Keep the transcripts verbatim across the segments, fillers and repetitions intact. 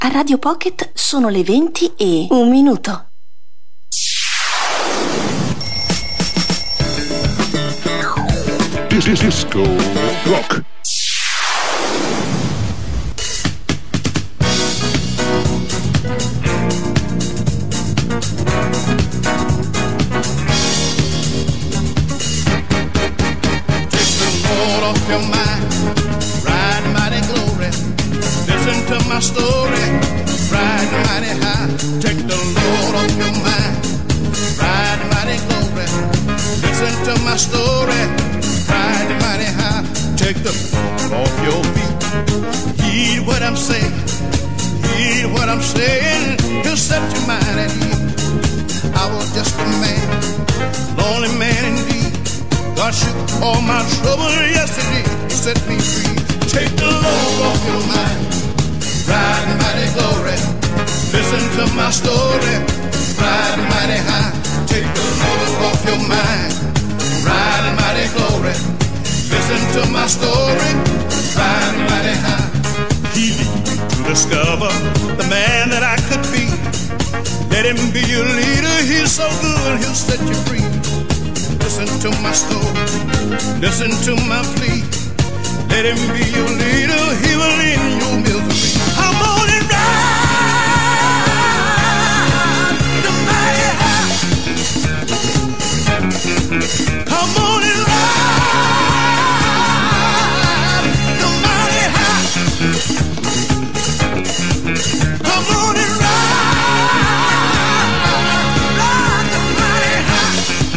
A Radio Pocket sono le venti e un minuto. This is Disco Rock. Your mind, ride mighty glory. Listen to my story, ride mighty high. Take the Lord off your mind, ride mighty glory. Listen to my story, ride mighty high. Take the Lord off your feet. Heed what I'm saying, heed what I'm saying. He'll set your mind at ease. I was just a man, lonely man indeed. God shook all my trouble yesterday, set me free. Take the load off your mind, ride mighty glory. Listen to my story, ride mighty high. Take the load off your mind, ride mighty glory. Listen to my story, ride mighty high. He lead me to discover the man that I could be. Let him be your leader, he's so good, he'll set you free. Listen to my story, listen to my plea. Let him be your leader, he will end your misery. I'm on and ride the mighty high. Come on and ride the mighty high. Come on and ride, ride the mighty high.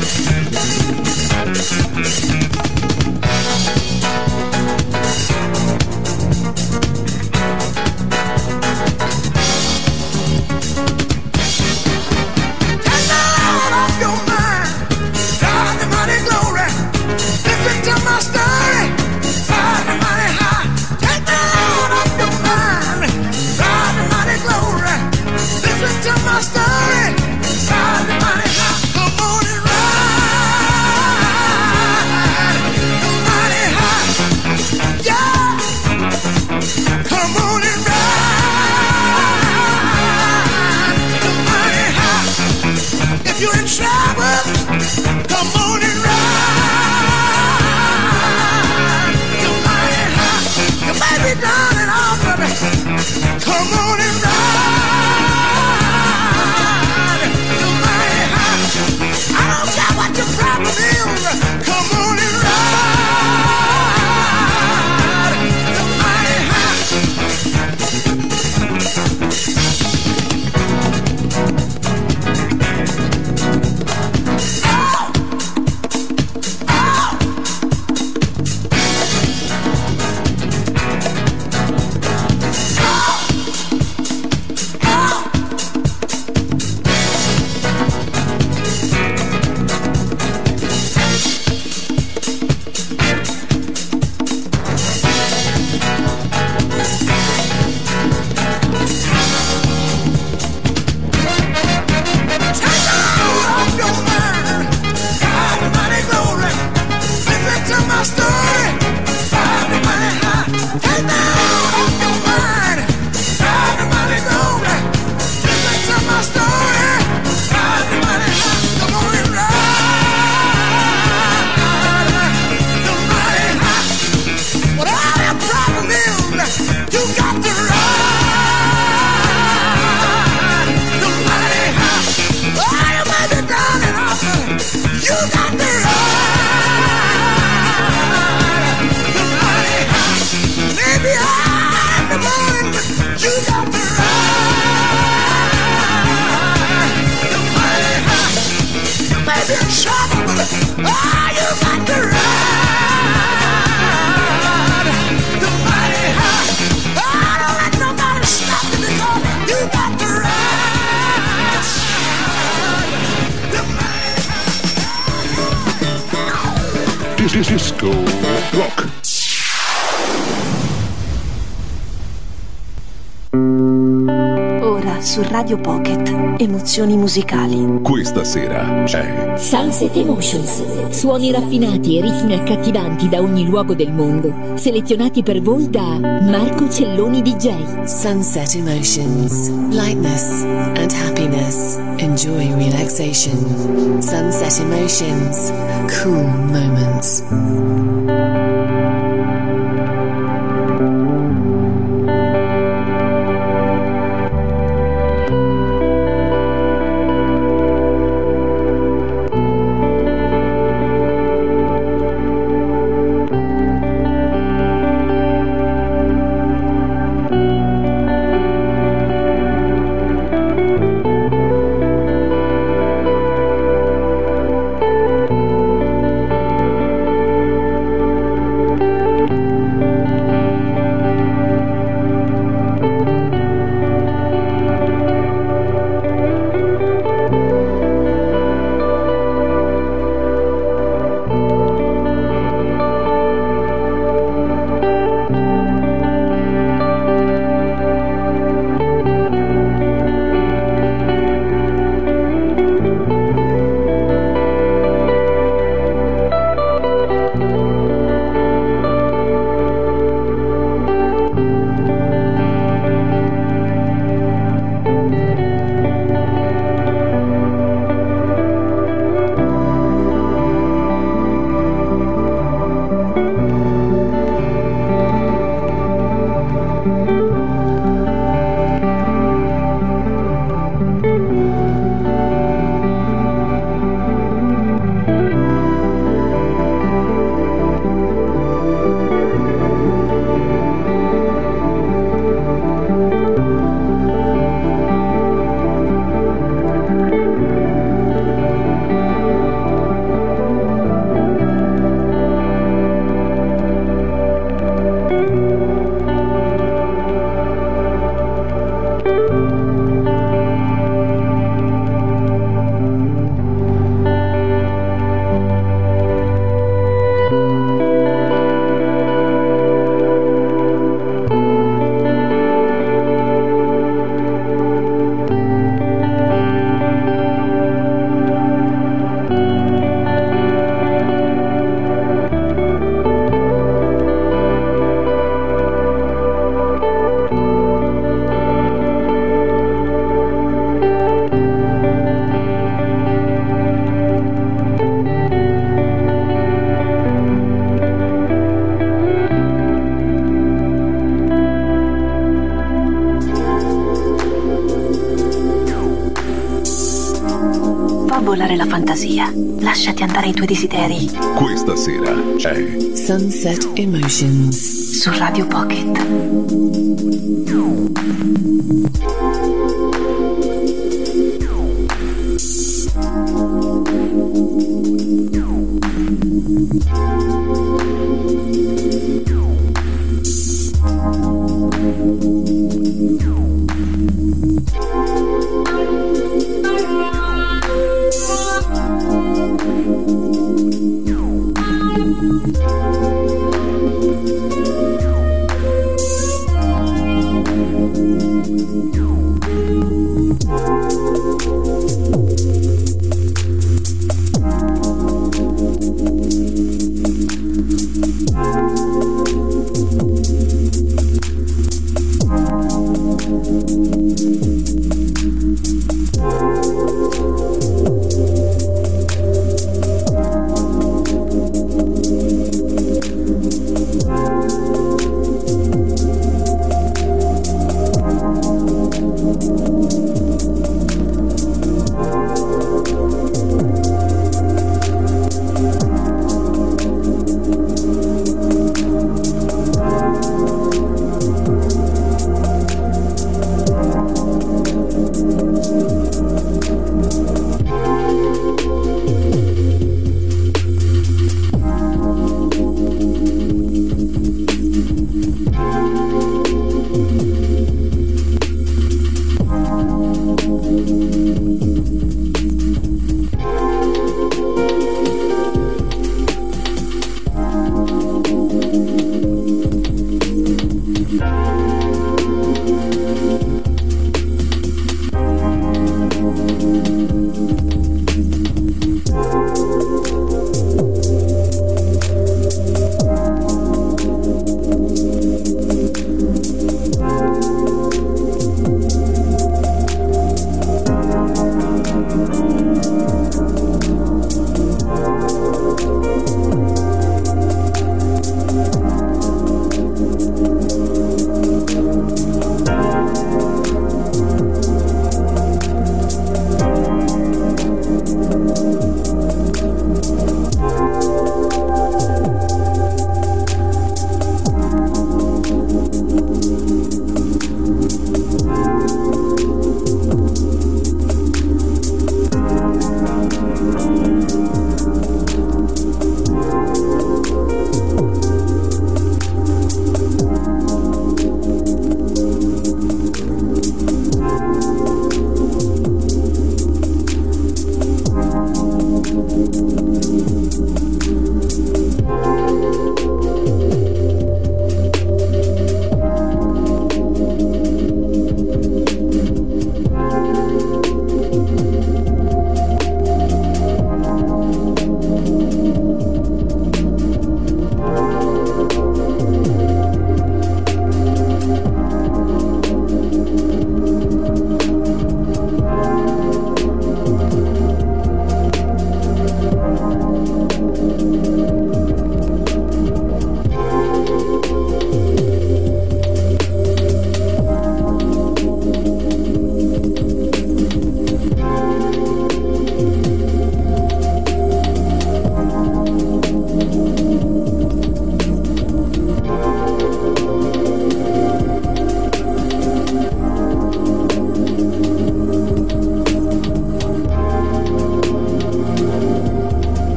Disco Rock. Ora su Radio Pocket. Emozioni musicali. Questa sera c'è Sunset Emotions, suoni raffinati e ritmi accattivanti da ogni luogo del mondo, selezionati per voi da Marco Celloni D J. Sunset Emotions, lightness and happiness. Enjoy relaxation. Sunset Emotions, cool moments. Volare la fantasia, lasciati andare i tuoi desideri. Questa sera c'è Sunset Emotions su Radio Pocket.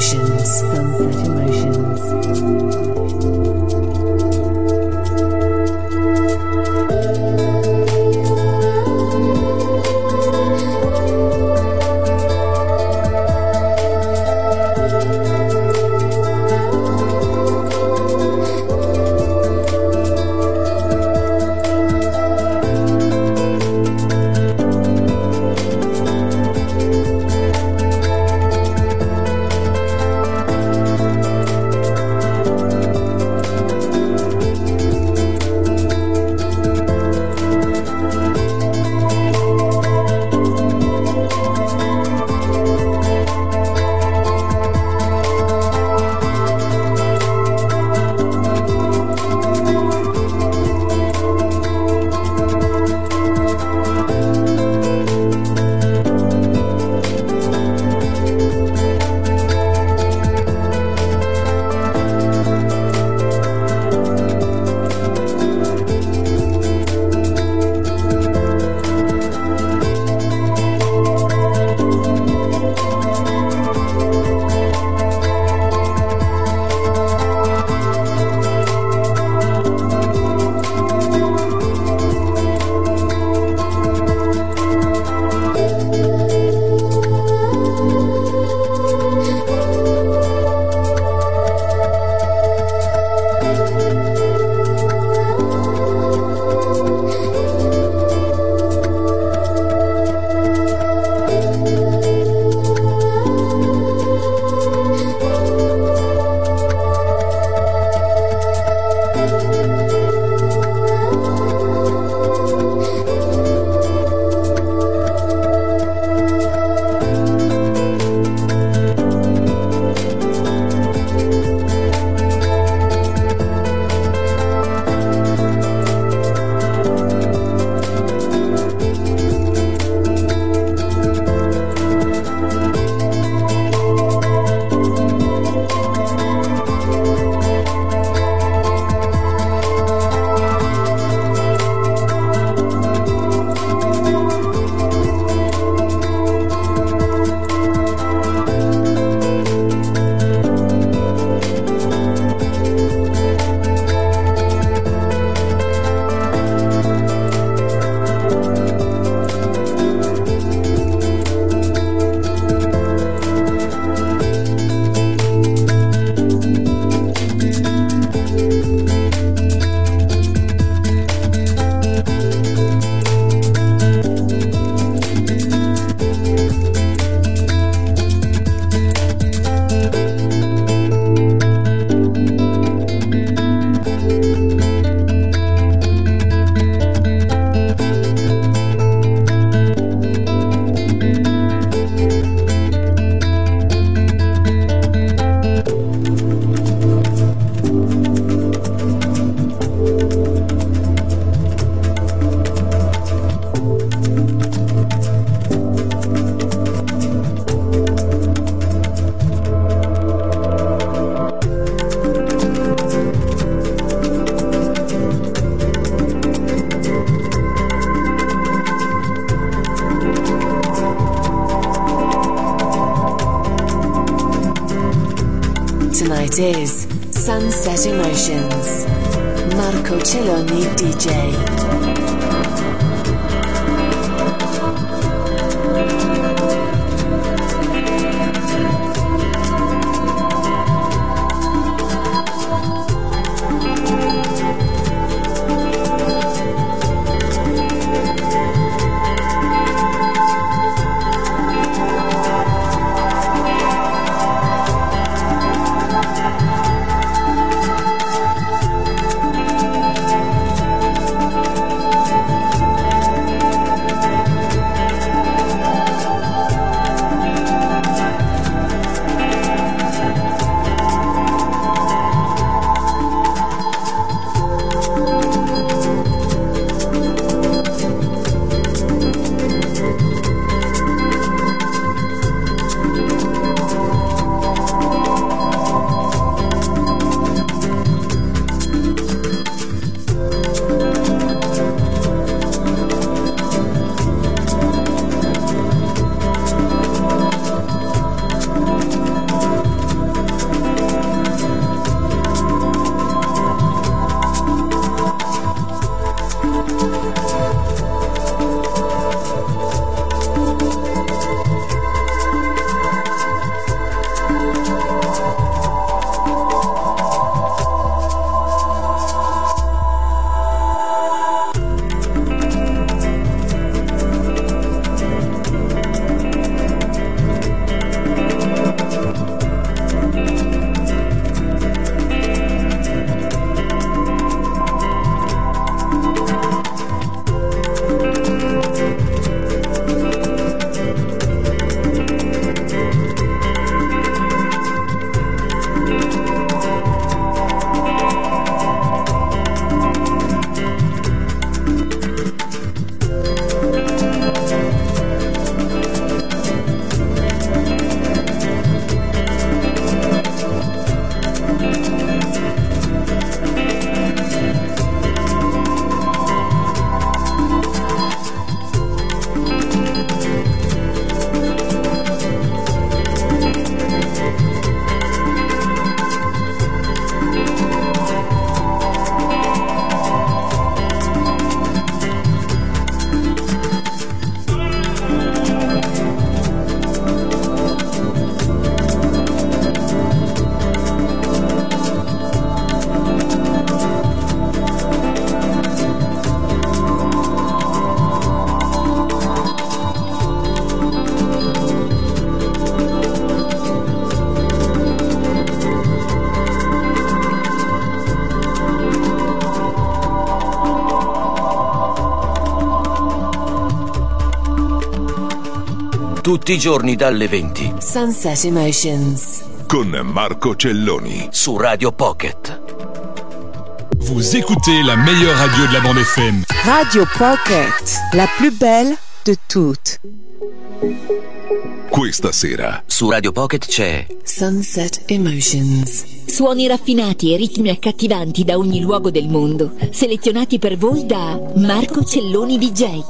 Emotions. Sunset Emotions. Tonight is Sunset Emotions. Marco Celloni D J. tutti i giorni dalle venti. Sunset Emotions. Con Marco Celloni. Su Radio Pocket. Vous écoutez la meilleure radio de la bande F M. Radio Pocket, la plus belle de toutes. Questa sera su Radio Pocket c'è Sunset Emotions. Suoni raffinati e ritmi accattivanti da ogni luogo del mondo, selezionati per voi da Marco Celloni D J.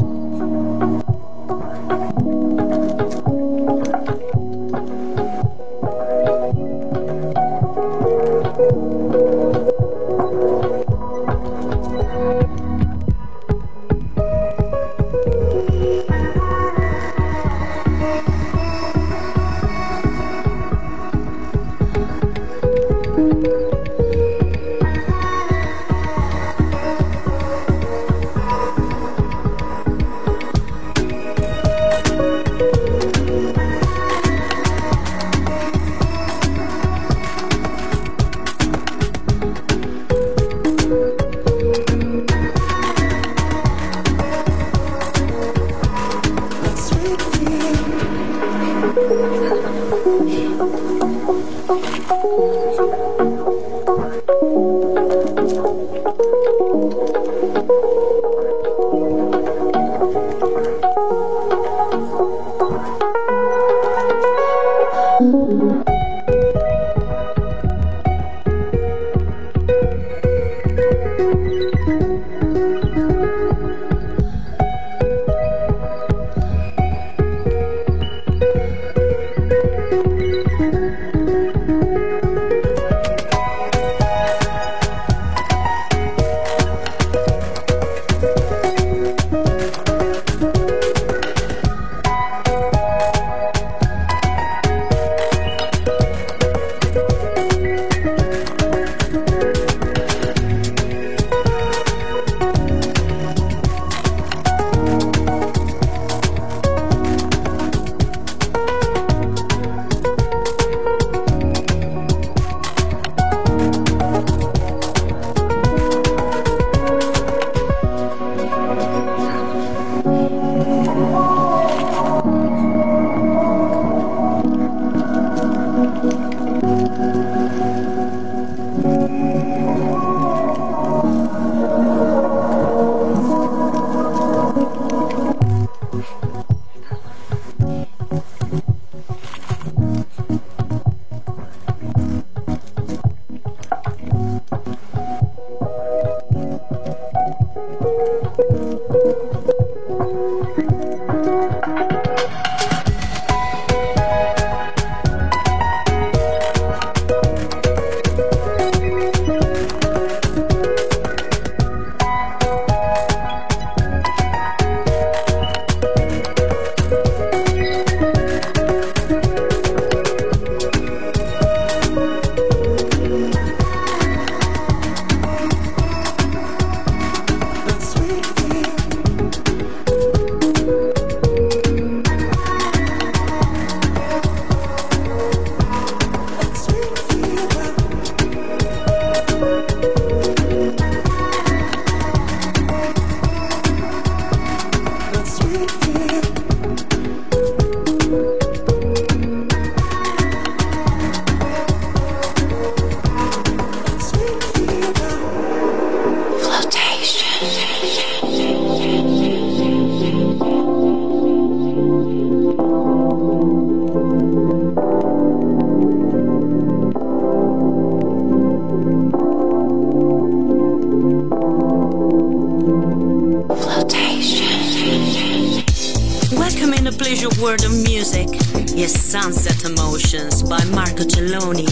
World of music is Sunset Emotions by Marco Celloni.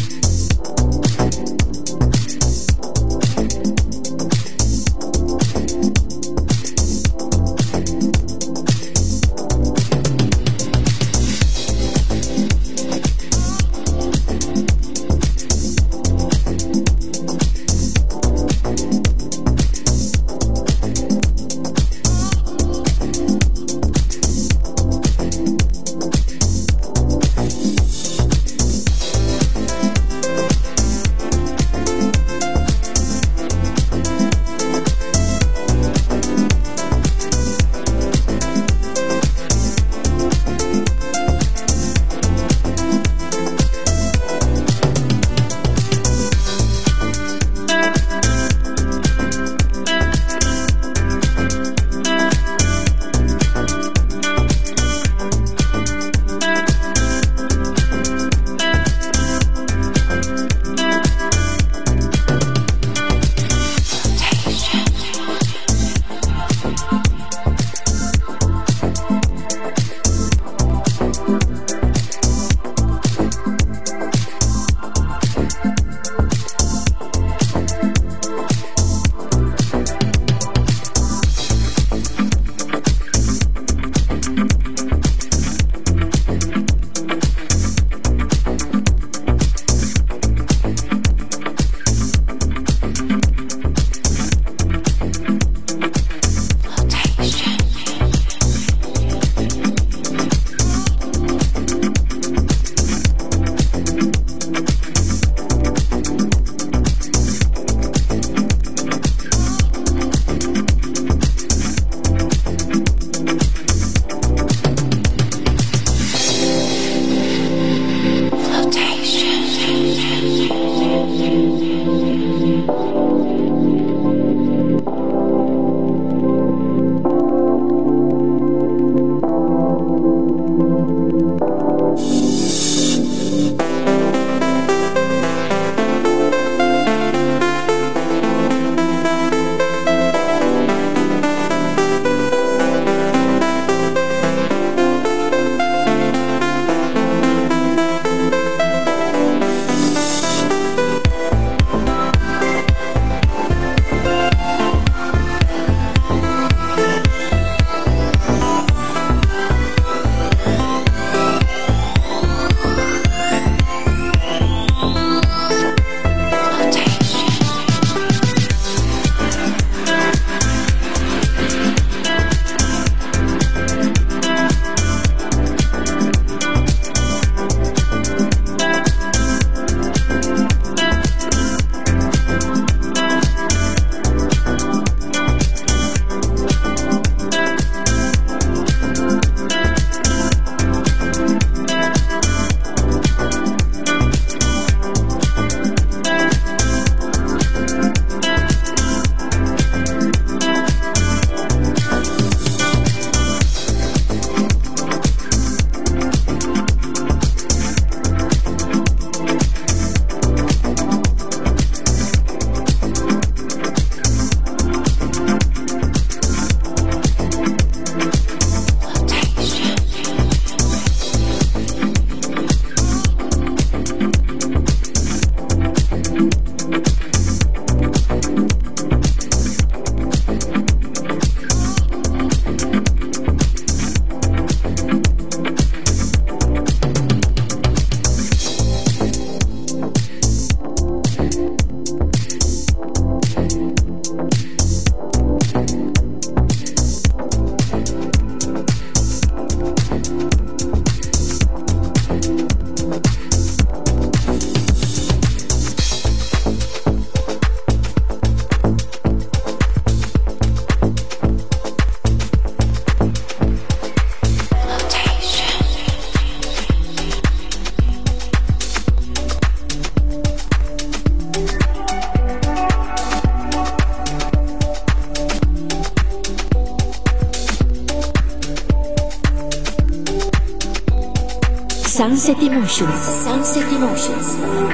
Sunset Emotions. Sunset Emotions.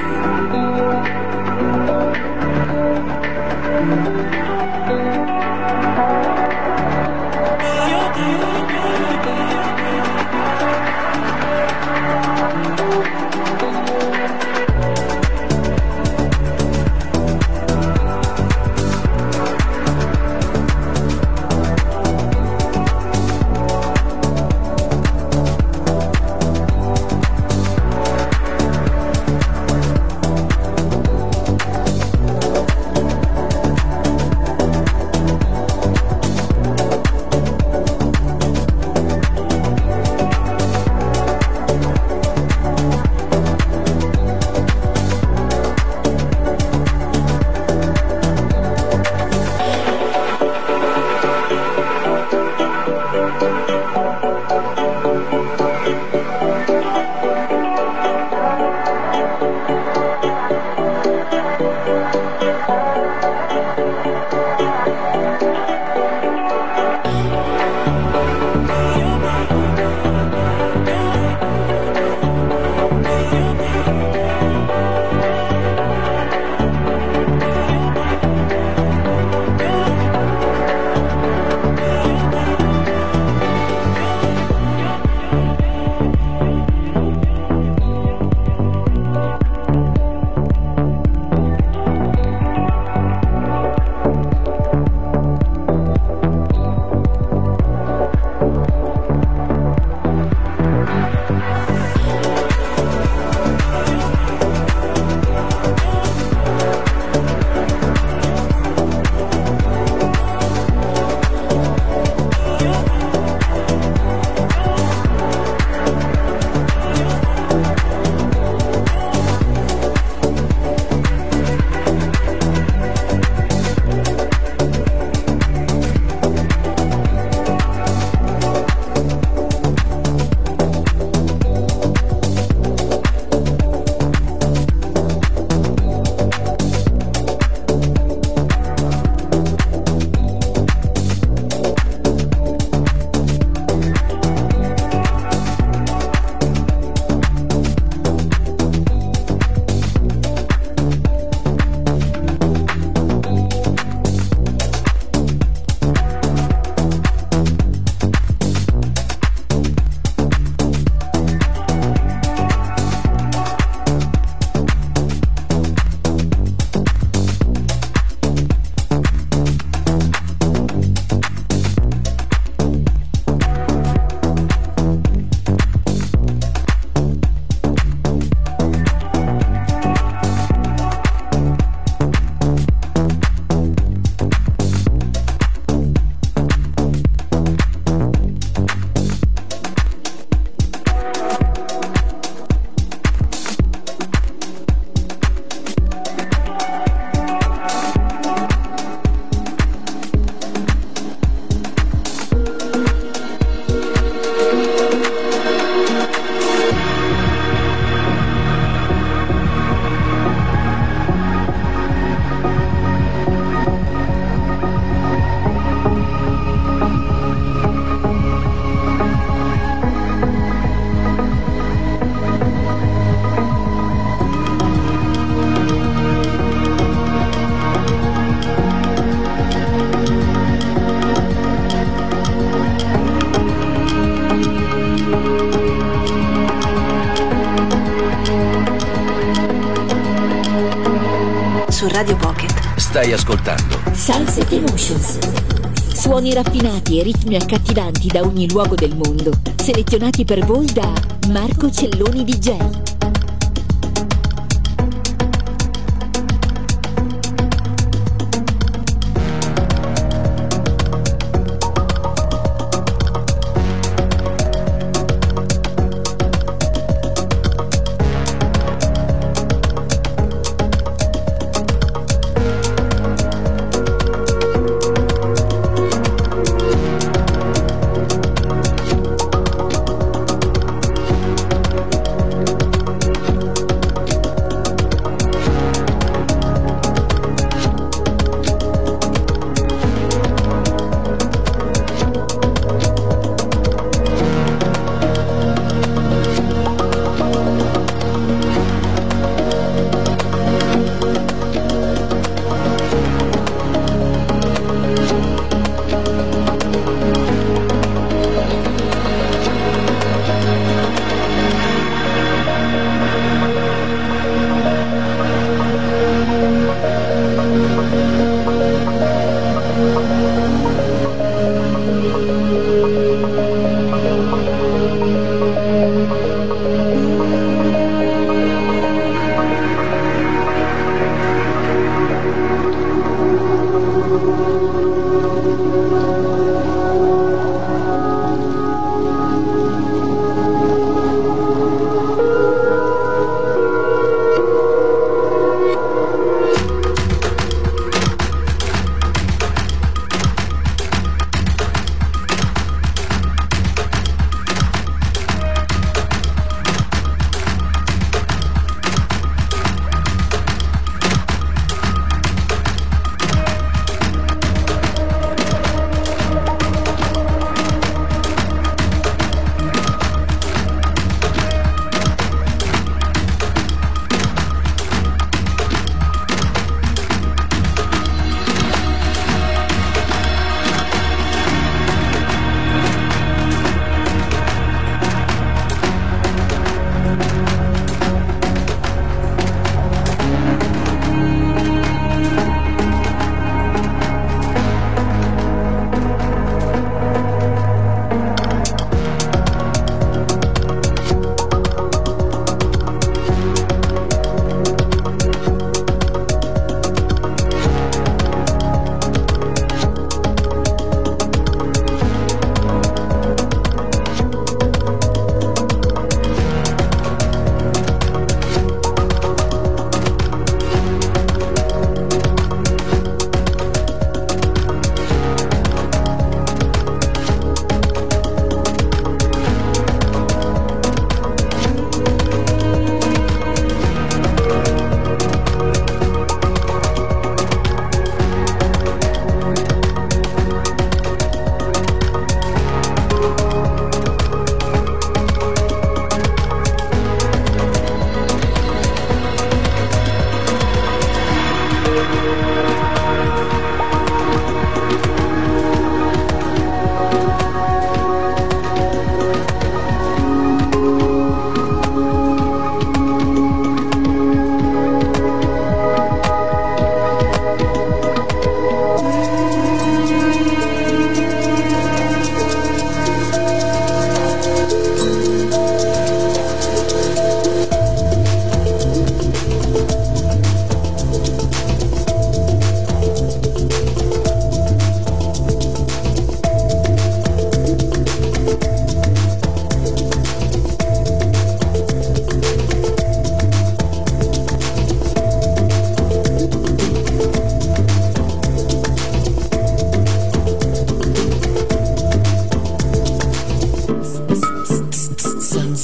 Su Radio Pocket stai ascoltando Sunset Emotions. Suoni raffinati e ritmi accattivanti da ogni luogo del mondo, selezionati per voi da Marco Celloni D J.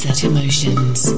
Sunset Emotions.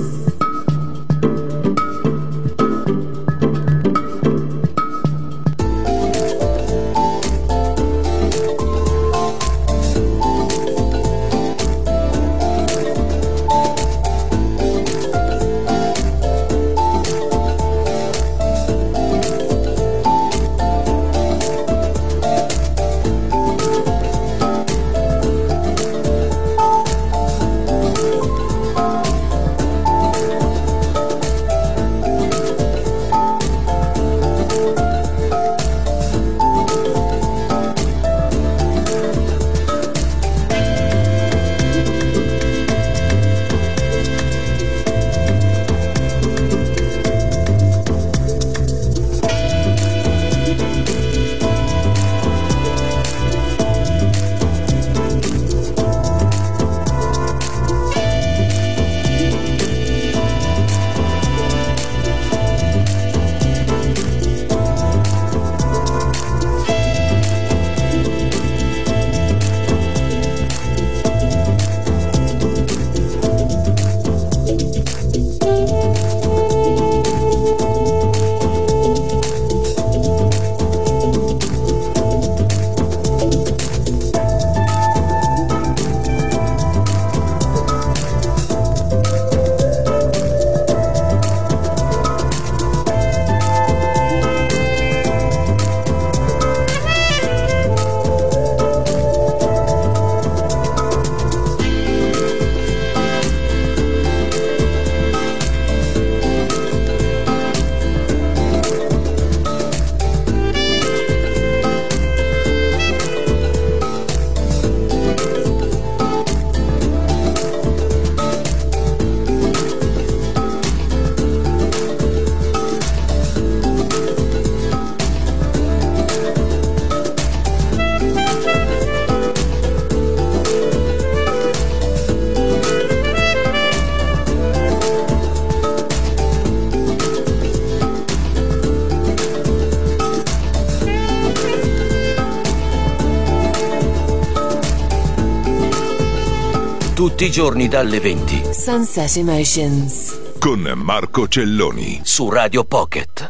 Tutti i giorni dalle venti. Sunset Emotions. Con Marco Celloni. Su Radio Pocket.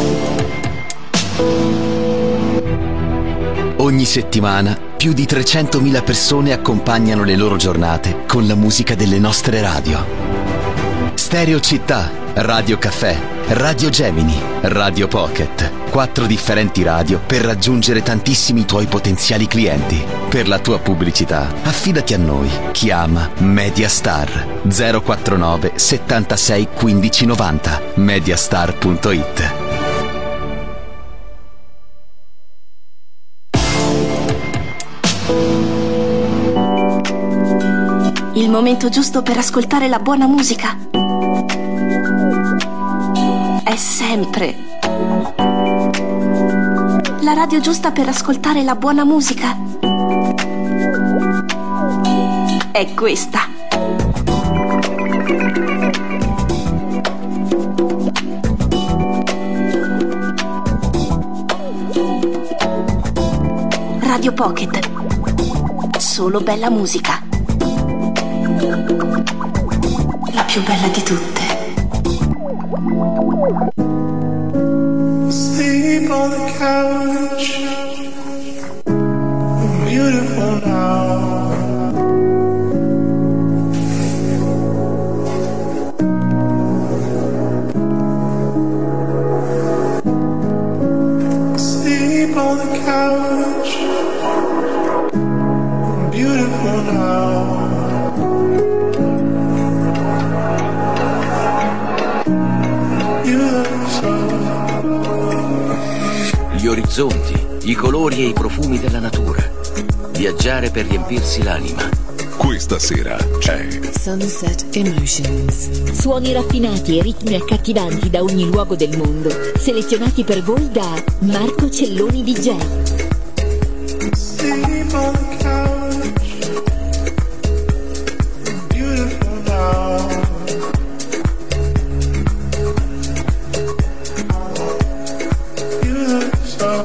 Ogni settimana più di trecentomila persone accompagnano le loro giornate con la musica delle nostre radio. Stereo Città, Radio Caffè, Radio Gemini, Radio Pocket. Quattro differenti radio per raggiungere tantissimi tuoi potenziali clienti. Per la tua pubblicità, affidati a noi. Chiama Mediastar zero quarantanove settantasei quindici novanta. mediastar punto it. Il momento giusto per ascoltare la buona musica è sempre la radio giusta per ascoltare la buona musica è questa. Radio Pocket. Solo bella musica. La più bella di tutte. Sleep on the couch. Beautiful now. Sleep on the couch. Beautiful now. Gli orizzonti, i colori e i profumi della natura. Viaggiare per riempirsi l'anima. Questa sera c'è Sunset Emotions. Suoni raffinati e ritmi accattivanti da ogni luogo del mondo, selezionati per voi da Marco Celloni D J. Sleep on the couch. Beautiful now. You look so.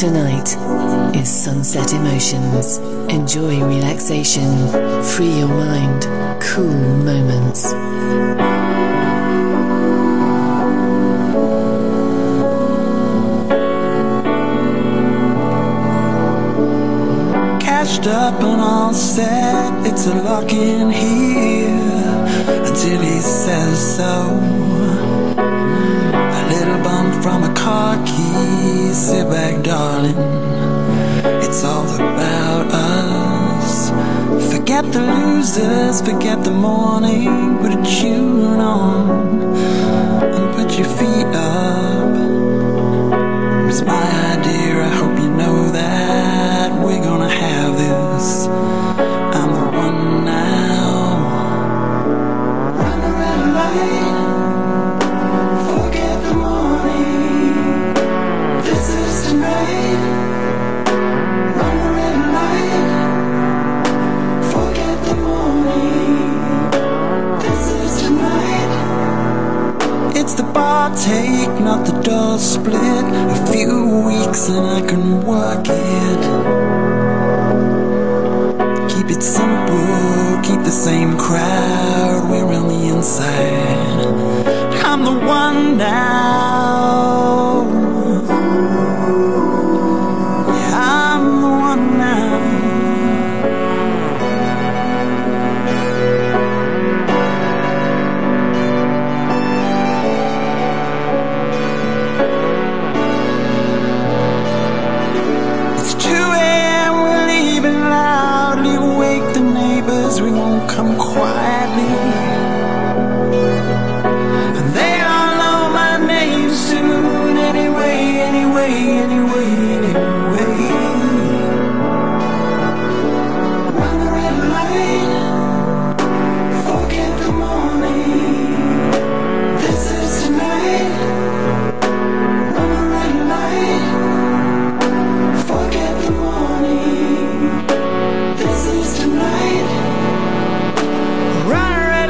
Tonight is Sunset Emotions. Enjoy relaxation, free your mind, cool moments. Cashed up and all set, it's a lock in here until he says so. A little bump from a car key, sit back darling, it's all about us. Forget the losers, forget the morning, put a tune on and put your feet up. It was my idea, I hope you know that we're gonna have this. I'm the one now. Run the red light, forget the morning, this is tonight. Run the red light, forget the morning, this is tonight. It's the bar take, not the door split. A few weeks and I can work it. Keep it simple, keep the same crowd. We're on the inside. I'm the one now. Yeah, I'm the one now. It's two a.m. we're leaving loudly. Wake the neighbors, we won't come quietly. And they all know my name soon. Anyway, anyway, anyway, anyway. Run the red light, forget the morning, this is tonight. Run the red light, forget the morning, this is tonight. Run a red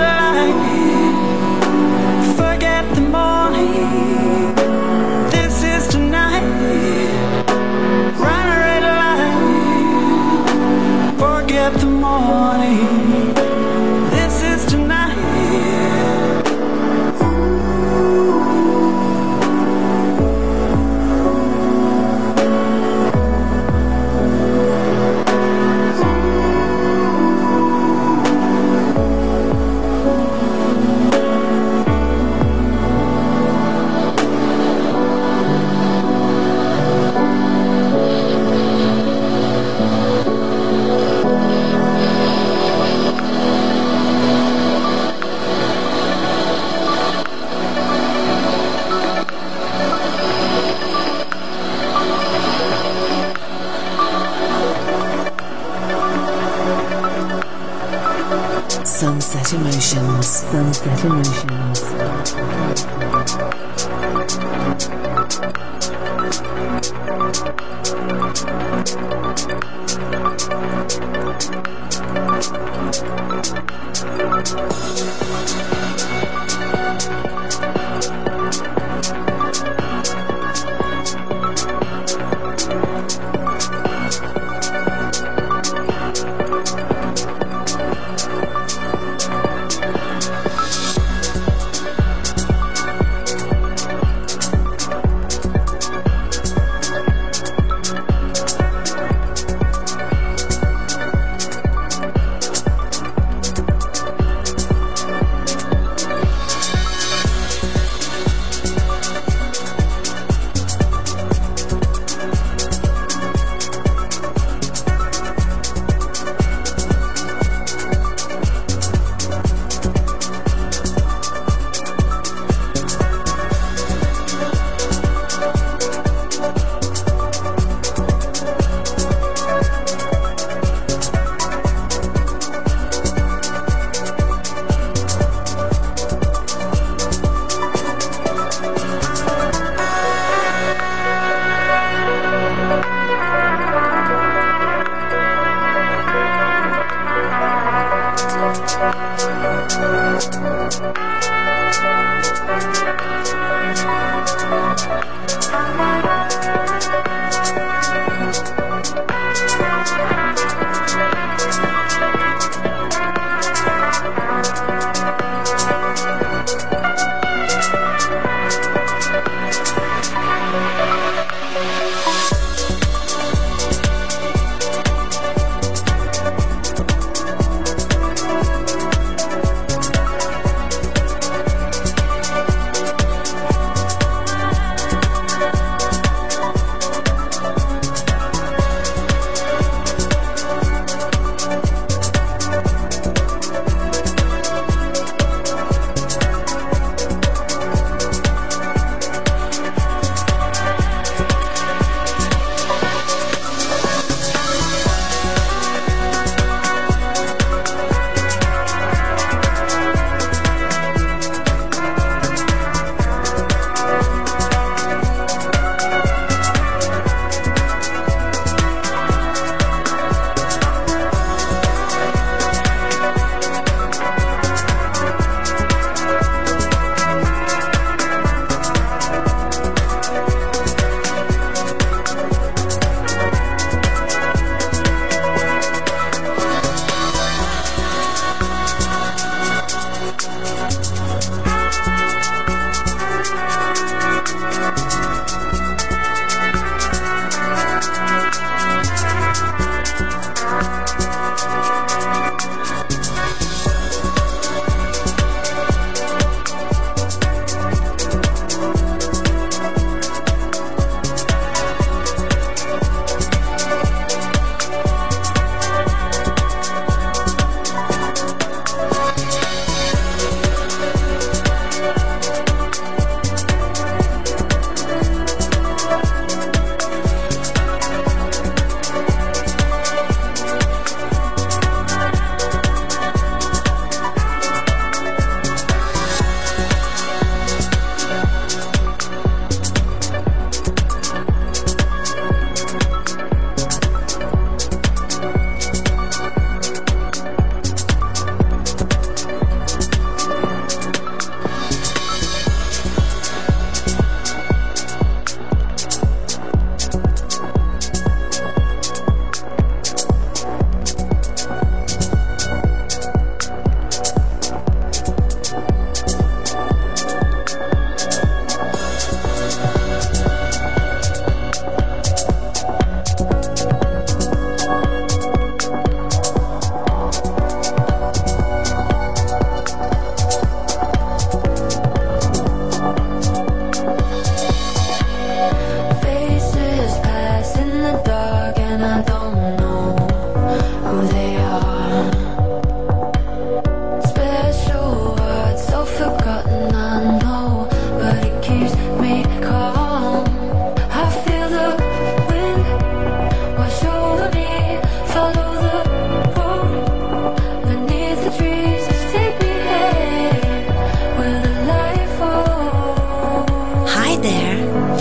light, forget the morning, this is tonight. Run a red light, forget the morning, this is tonight. Sunset Emotions. Sunset Emotions.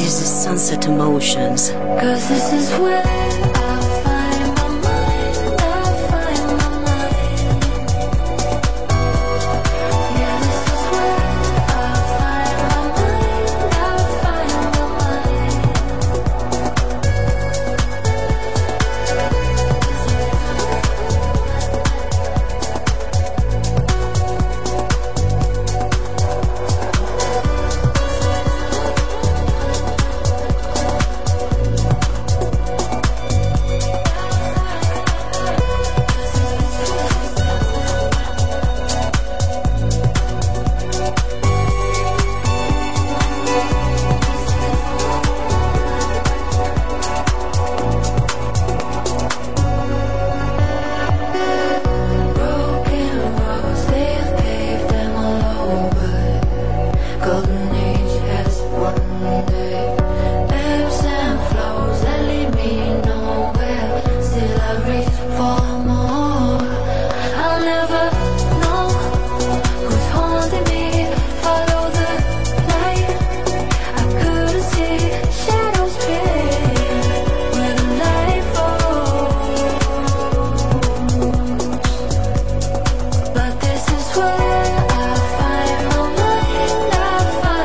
This is Sunset Emotions. 'Cause this is where I find my mind, I find my mind. Yeah, this is where I find my mind, I find my mind. But this is where I find my mind, I find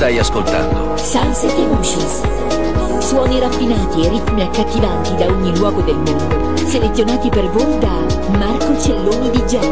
Stai ascoltando Sunset Emotions. Suoni raffinati e ritmi accattivanti da ogni luogo del mondo, selezionati per voi da Marco Celloni D J.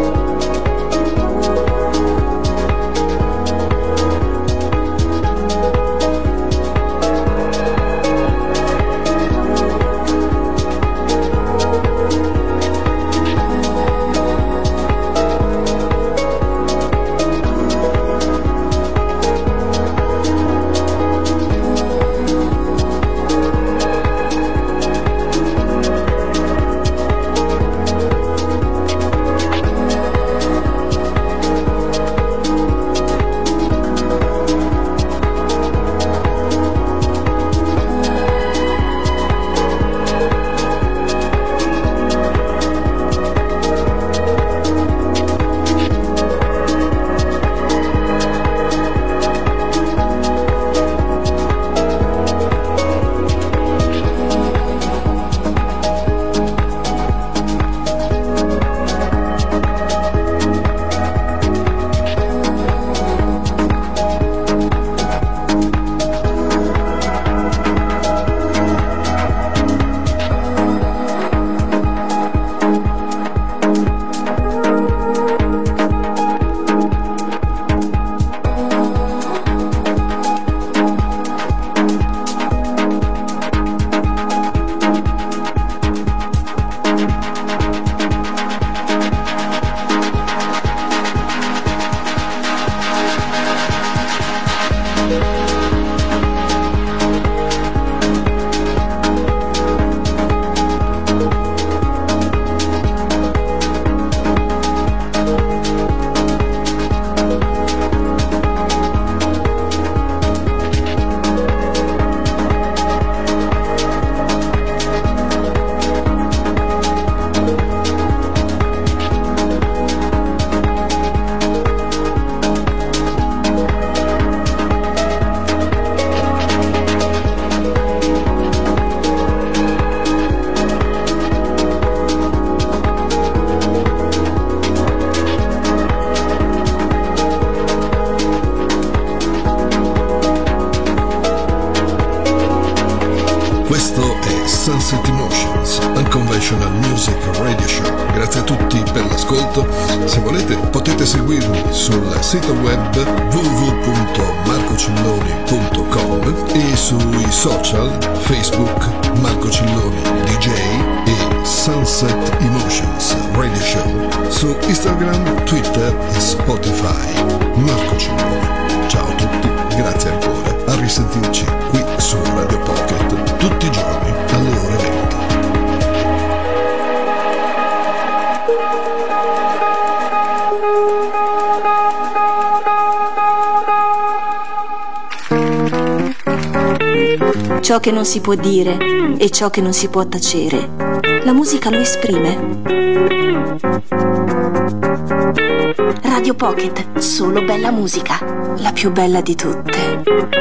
Questo è Sunset Emotions, Unconventional Music Radio Show. Grazie a tutti per l'ascolto. Se volete potete seguirmi sul sito web w w w punto marco celloni punto com e sui social Facebook Marco Celloni D J e Sunset Emotions Radio Show, su Instagram, Twitter e Spotify. Marco Celloni. Ciao a tutti, grazie ancora. A risentirci qui su Radio Pocket tutti i giorni alle ore venti. Ciò che non si può dire e ciò che non si può tacere, la musica lo esprime. Radio Pocket, solo bella musica, la più bella di tutte.